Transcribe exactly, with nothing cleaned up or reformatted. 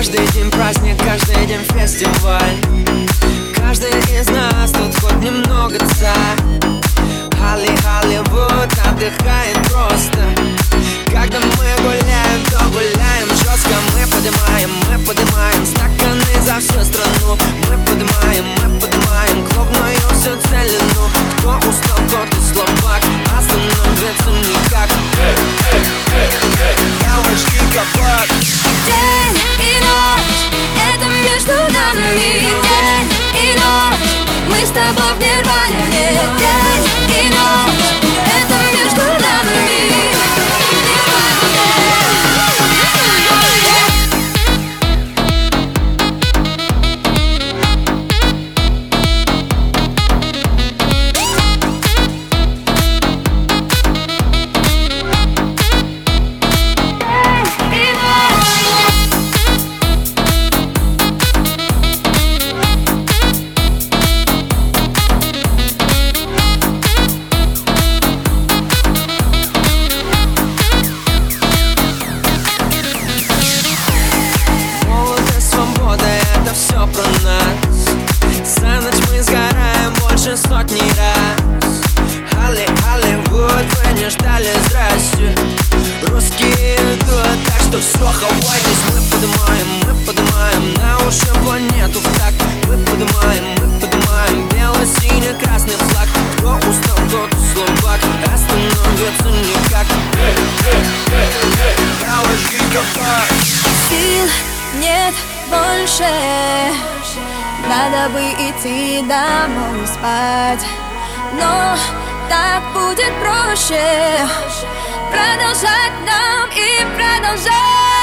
Каждый день праздник, каждый день фестиваль. Каждый из нас тут хоть немного царь. Холли, Холливуд отдыхает просто. Когда мы гуляем, то гуляем жестко. Мы поднимаем, мы поднимаем стаканы за всю страну. Мы поднимаем, мы поднимаем клубную всю целину. Кто устал, тот и слабак, остановиться никак. Девочки, капот. День и ночь, это между нами. День и ночь, мы с тобой в нирване. День и ночь, это между нами. Все про нас. За ночь мы сгораем больше сотни раз. Холли, Холливуд, вы не ждали, здрасте. Русские идут, так что все, хавайтесь. Мы поднимаем, мы поднимаем на уши планету в такт. Мы поднимаем, мы поднимаем бело-синий-красный флаг. Кто устал, тот и слабак, остановиться никак. Девочки, капот. Сил нет больше, надо бы идти домой спать. Но так будет проще продолжать нам и продолжать.